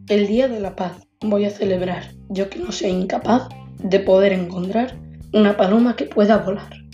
El Día de la Paz voy a celebrar, yo que no sea incapaz de poder encontrar una paloma que pueda volar.